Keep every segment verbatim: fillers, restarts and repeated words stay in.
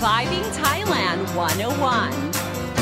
Surviving Thailand one oh one.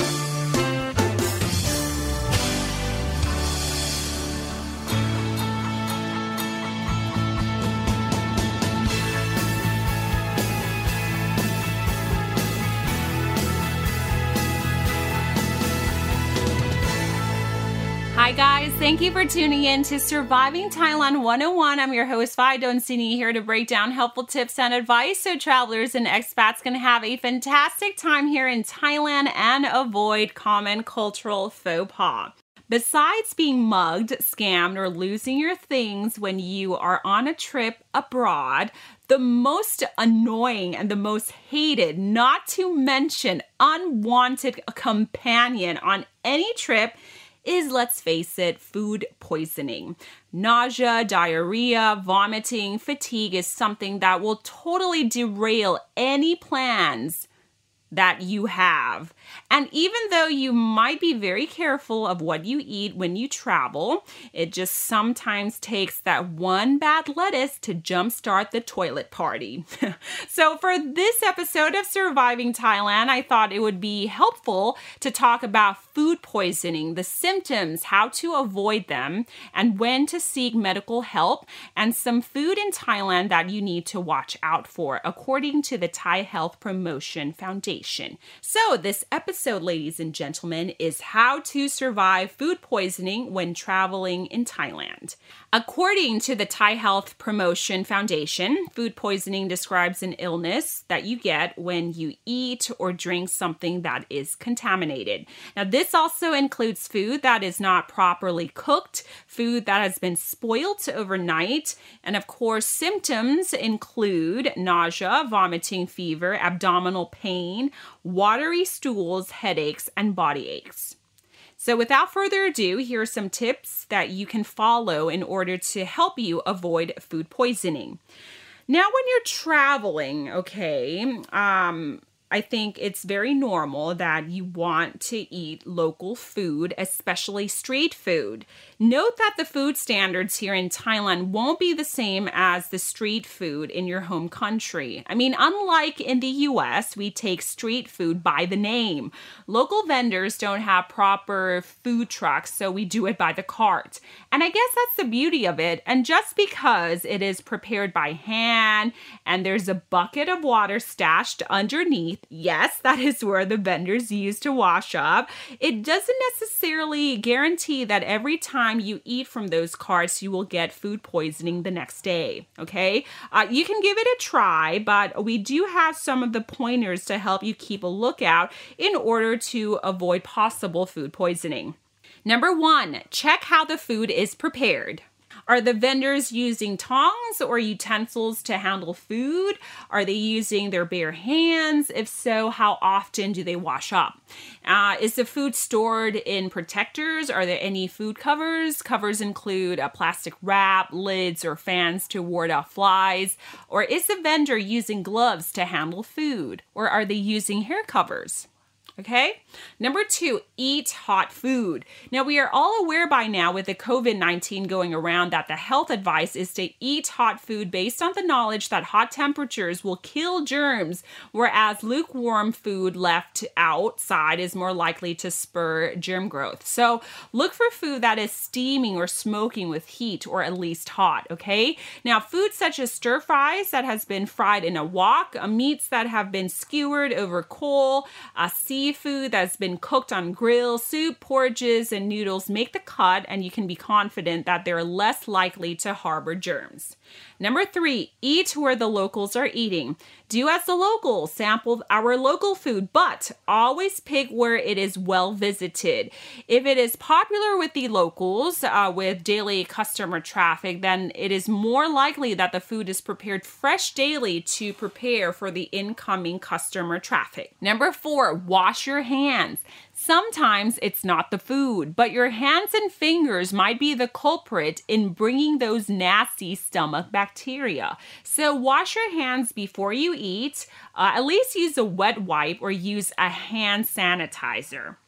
Hi guys, thank you for tuning in to Surviving Thailand one oh one. I'm your host, Vi Donsini, here to break down helpful tips and advice so travelers and expats can have a fantastic time here in Thailand and avoid common cultural faux pas. Besides being mugged, scammed, or losing your things when you are on a trip abroad, the most annoying and the most hated, not to mention unwanted companion on any trip is, let's face it, food poisoning. Nausea, diarrhea, vomiting, fatigue is something that will totally derail any plans that you have. And even though you might be very careful of what you eat when you travel, it just sometimes takes that one bad lettuce to jumpstart the toilet party. So for this episode of Surviving Thailand, I thought it would be helpful to talk about food poisoning, the symptoms, how to avoid them, and when to seek medical help, and some food in Thailand that you need to watch out for, according to the Thai Health Promotion Foundation. So this episode, ladies and gentlemen, is how to survive food poisoning when traveling in Thailand. According to the Thai Health Promotion Foundation, food poisoning describes an illness that you get when you eat or drink something that is contaminated. Now, this also includes food that is not properly cooked, food that has been spoiled overnight, and of course, symptoms include nausea, vomiting, fever, abdominal pain, watery stools, headaches, and body aches. So without further ado, here are some tips that you can follow in order to help you avoid food poisoning. Now, when you're traveling, okay, um, I think it's very normal that you want to eat local food, especially street food. Note that the food standards here in Thailand won't be the same as the street food in your home country. I mean, unlike in the U S, we take street food by the name. Local vendors don't have proper food trucks, so we do it by the cart. And I guess that's the beauty of it. And just because it is prepared by hand and there's a bucket of water stashed underneath, yes, that is where the vendors use to wash up, it doesn't necessarily guarantee that every time you eat from those carts, you will get food poisoning the next day, okay? Uh, you can give it a try, but we do have some of the pointers to help you keep a lookout in order to avoid possible food poisoning. Number one, check how the food is prepared. Are the vendors using tongs or utensils to handle food? Are they using their bare hands? If so, how often do they wash up? Uh, is the food stored in protectors? Are there any food covers? Covers include a plastic wrap, lids, or fans to ward off flies. Or is the vendor using gloves to handle food? Or are they using hair covers? Okay. Number two, eat hot food. Now, we are all aware by now with the covid nineteen going around that the health advice is to eat hot food based on the knowledge that hot temperatures will kill germs, whereas lukewarm food left outside is more likely to spur germ growth. So look for food that is steaming or smoking with heat or at least hot, okay? Now, foods such as stir fries that has been fried in a wok, uh, meats that have been skewered over coal, uh, sea Seafood that's been cooked on grill, soup, porridges, and noodles make the cut, and you can be confident that they're less likely to harbor germs. Number three, eat where the locals are eating. Do as the locals, sample our local food, but always pick where it is well visited. If it is popular with the locals, uh, with daily customer traffic, then it is more likely that the food is prepared fresh daily to prepare for the incoming customer traffic. Number four, wash your hands. Sometimes it's not the food, but your hands and fingers might be the culprit in bringing those nasty stomach bacteria. So wash your hands before you eat. Uh, at least use a wet wipe or use a hand sanitizer.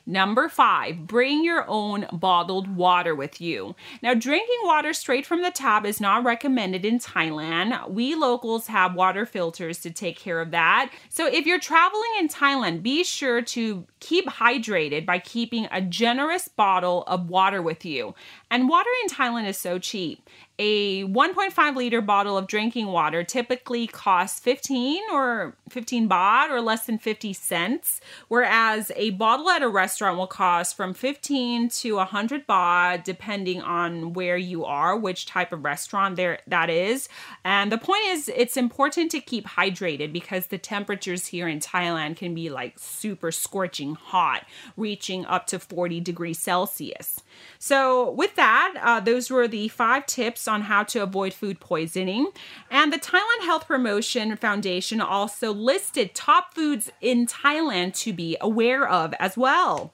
Number five, bring your own bottled water with you. Now, drinking water straight from the tap is not recommended in Thailand. We locals have water filters to take care of that. So if you're traveling in Thailand, be sure to keep hydrated by keeping a generous bottle of water with you. And water in Thailand is so cheap. A one point five liter bottle of drinking water typically costs fifteen or fifteen baht or less than fifty cents, whereas a bottle at a restaurant will cost from fifteen to one hundred baht depending on where you are, which type of restaurant there that is. And the point is, it's important to keep hydrated because the temperatures here in Thailand can be like super scorching hot, reaching up to forty degrees Celsius. So with that, uh, those were the five tips on how to avoid food poisoning. And the Thailand Health Promotion Foundation also listed top foods in Thailand to be aware of as well.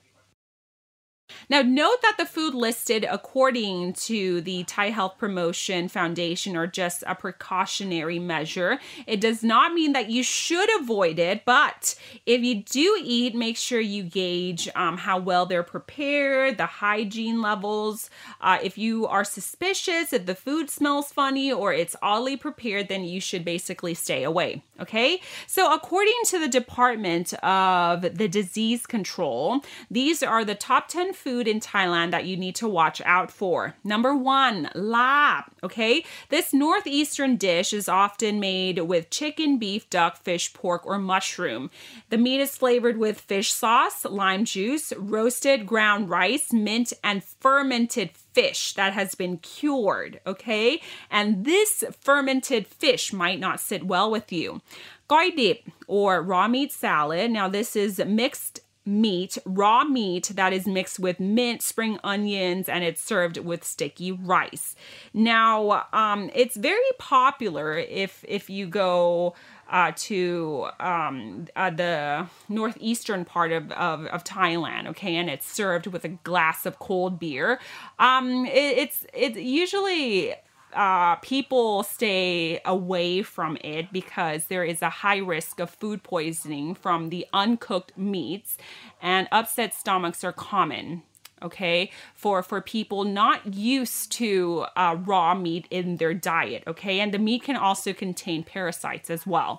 Now, note that the food listed according to the Thai Health Promotion Foundation are just a precautionary measure. It does not mean that you should avoid it, but if you do eat, make sure you gauge um, how well they're prepared, the hygiene levels. Uh, if you are suspicious, if the food smells funny or it's oddly prepared, then you should basically stay away, okay? So according to the Department of the Disease Control, these are the top ten food in Thailand that you need to watch out for. Number one, lap, okay? This northeastern dish is often made with chicken, beef, duck, fish, pork, or mushroom. The meat is flavored with fish sauce, lime juice, roasted ground rice, mint, and fermented fish that has been cured, okay? And this fermented fish might not sit well with you. Goi dip, or raw meat salad. Now, this is mixed meat, raw meat that is mixed with mint, spring onions, and it's served with sticky rice. Now, um, it's very popular if if you go uh, to um, uh, the northeastern part of, of, of Thailand, okay, and it's served with a glass of cold beer. Um, it, it's it's usually Uh, people stay away from it because there is a high risk of food poisoning from the uncooked meats, and upset stomachs are common, okay, for, for people not used to uh, raw meat in their diet, okay, and the meat can also contain parasites as well.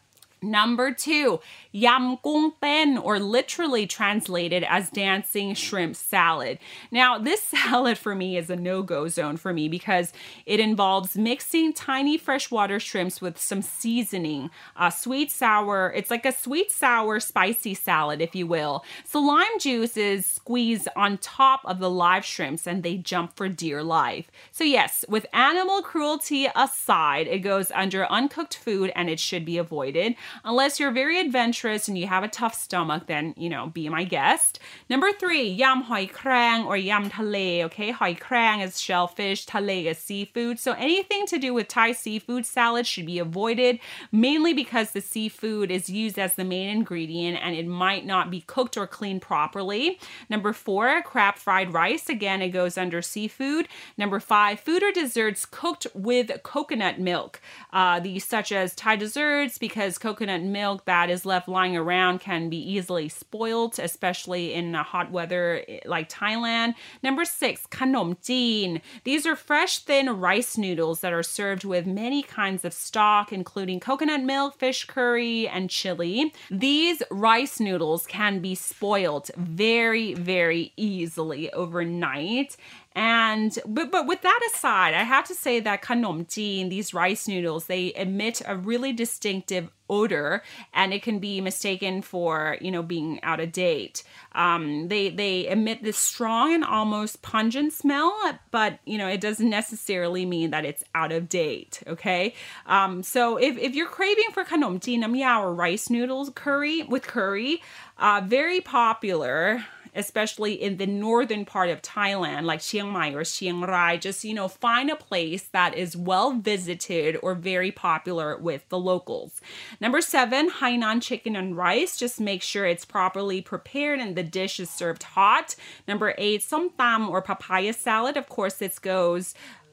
Number two, yam gung ten, or literally translated as dancing shrimp salad. Now, this salad for me is a no-go zone for me because it involves mixing tiny freshwater shrimps with some seasoning, uh, sweet sour. It's like a sweet sour spicy salad, if you will. So lime juice is squeezed on top of the live shrimps and they jump for dear life. So yes, with animal cruelty aside, it goes under uncooked food and it should be avoided. Unless you're very adventurous and you have a tough stomach, then, you know, be my guest. Number three, yam hoi krang or yam thale, okay? Hoi krang is shellfish, thale is seafood. So anything to do with Thai seafood salad should be avoided, mainly because the seafood is used as the main ingredient and it might not be cooked or cleaned properly. Number four, crab fried rice. Again, it goes under seafood. Number five, food or desserts cooked with coconut milk. Uh, these such as Thai desserts, because coconut milk that is left lying around can be easily spoiled, especially in hot weather like Thailand. Number six, khanom jeen. These are fresh, thin rice noodles that are served with many kinds of stock, including coconut milk, fish curry, and chili. These rice noodles can be spoiled very, very easily overnight. And but but with that aside, I have to say that khanom jeen, these rice noodles, they emit a really distinctive odor, and it can be mistaken for, you know, being out of date. Um, they they emit this strong and almost pungent smell, but you know, it doesn't necessarily mean that it's out of date. Okay, um, so if if you're craving for khanom jeen nam yao or rice noodles curry with curry, uh, very popular, especially in the northern part of Thailand, like Chiang Mai or Chiang Rai. Just, you know, find a place that is well visited or very popular with the locals. Number seven, Hainan chicken and rice. Just make sure it's properly prepared and the dish is served hot. Number eight, som tam or papaya salad. Of course, this goes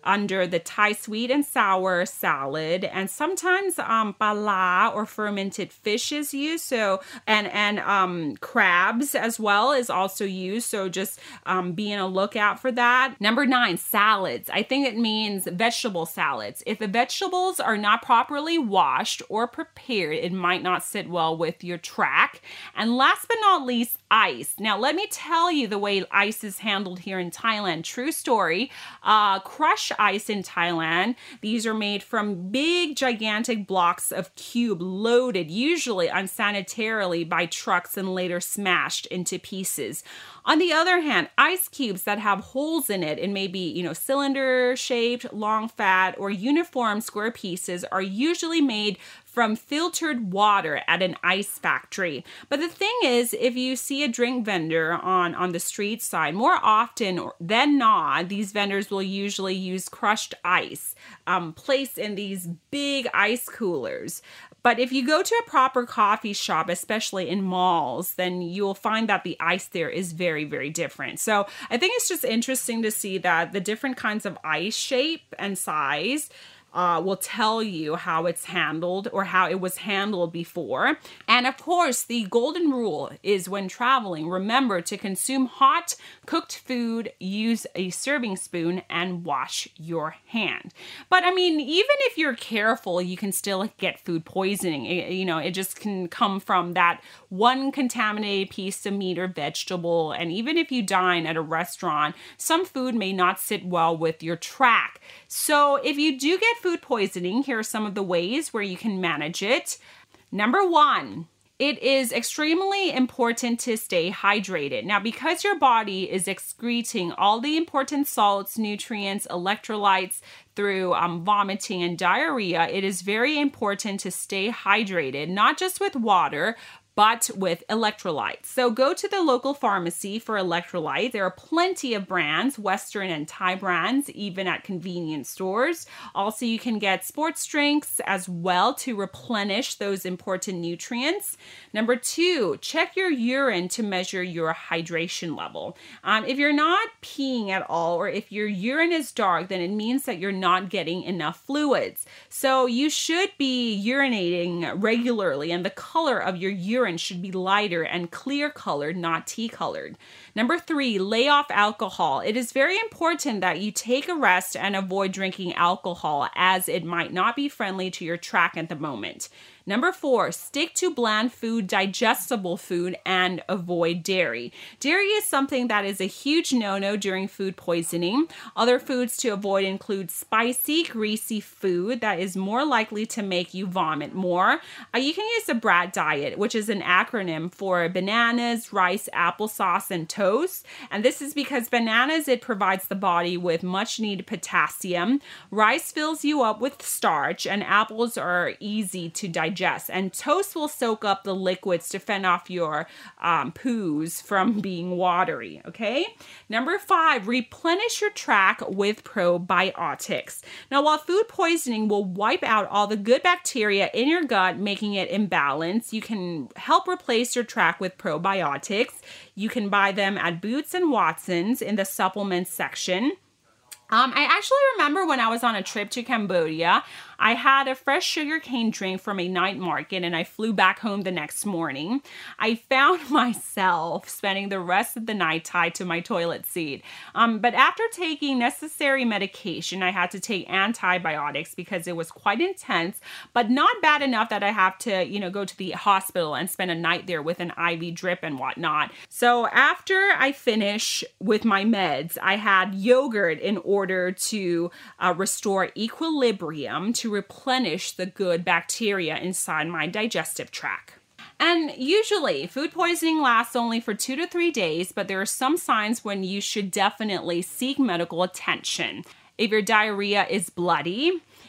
under the Thai sweet and sour salad, and sometimes um, pala or fermented fish is used. So and and um, crabs as well is also used. So just um, be on a lookout for that. Number nine, salads. I think it means vegetable salads. If the vegetables are not properly washed or prepared, it might not sit well with your track. And last but not least, ice. Now, let me tell you the way ice is handled here in Thailand. True story. Uh, crushed ice in Thailand. These are made from big, gigantic blocks of cube loaded, usually unsanitarily by trucks and later smashed into pieces. On the other hand, ice cubes that have holes in it and maybe, you know, cylinder shaped, long fat, or uniform square pieces are usually made from filtered water at an ice factory. But the thing is, if you see a drink vendor on, on the street side, more often than not, these vendors will usually use crushed ice um, placed in these big ice coolers. But if you go to a proper coffee shop, especially in malls, then you'll find that the ice there is very, very different. So I think it's just interesting to see that the different kinds of ice shape and size Uh, will tell you how it's handled or how it was handled before. And of course, the golden rule is when traveling, remember to consume hot, cooked food, use a serving spoon, and wash your hand. But I mean, even if you're careful, you can still get food poisoning. It, you know, it just can come from that one contaminated piece of meat or vegetable. And even if you dine at a restaurant, some food may not sit well with your track. So if you do get food poisoning, here are some of the ways where you can manage it. Number one, it is extremely important to stay hydrated. Now, because your body is excreting all the important salts, nutrients, electrolytes through um, vomiting and diarrhea, it is very important to stay hydrated, not just with water, but with electrolytes. So go to the local pharmacy for electrolyte. There are plenty of brands, Western and Thai brands, even at convenience stores. Also, you can get sports drinks as well to replenish those important nutrients. Number two, check your urine to measure your hydration level. Um, if you're not peeing at all, or if your urine is dark, then it means that you're not getting enough fluids. So you should be urinating regularly, and the color of your urine should be lighter and clear colored, not tea colored. Number three, lay off alcohol. It is very important that you take a rest and avoid drinking alcohol, as it might not be friendly to your track at the moment. Number four, stick to bland food, digestible food, and avoid dairy. Dairy is something that is a huge no-no during food poisoning. Other foods to avoid include spicy, greasy food that is more likely to make you vomit more. Uh, you can use the B R A T diet, which is an acronym for bananas, rice, applesauce, and toast. And this is because bananas, it provides the body with much needed potassium. Rice fills you up with starch, and apples are easy to digest. And toast will soak up the liquids to fend off your um, poos from being watery, okay? Number five, replenish your track with probiotics. Now, while food poisoning will wipe out all the good bacteria in your gut, making it imbalanced, you can help replace your track with probiotics. You can buy them at Boots and Watson's in the supplements section. Um, I actually remember when I was on a trip to Cambodia, I had a fresh sugarcane drink from a night market, and I flew back home the next morning. I found myself spending the rest of the night tied to my toilet seat. Um, but after taking necessary medication, I had to take antibiotics because it was quite intense, but not bad enough that I have to, you know, go to the hospital and spend a night there with an I V drip and whatnot. So after I finish with my meds, I had yogurt in order to uh, restore equilibrium, to replenish the good bacteria inside my digestive tract. And usually, food poisoning lasts only for two to three days, but there are some signs when you should definitely seek medical attention. If your diarrhea is bloody,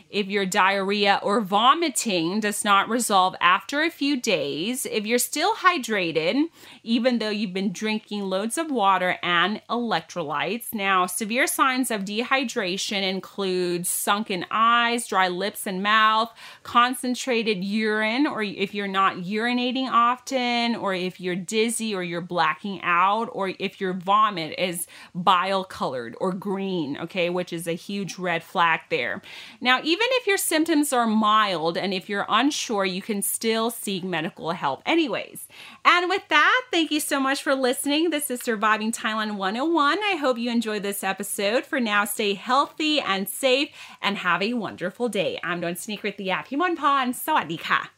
if your diarrhea or vomiting does not resolve after a few days, if you're still hydrated, even though you've been drinking loads of water and electrolytes. Now, severe signs of dehydration include sunken eyes, dry lips and mouth, concentrated urine, or if you're not urinating often, or if you're dizzy or you're blacking out, or if your vomit is bile colored or green, okay, which is a huge red flag there. Now, even if your symptoms are mild and if you're unsure, you can still seek medical help anyways. And with that, thank you so much for listening. This is Surviving Thailand one oh one. I hope you enjoyed this episode. For now, stay healthy and safe and have a wonderful day. I'm Dawn Sneaker at the app. Himon Pon. Sawadee ka.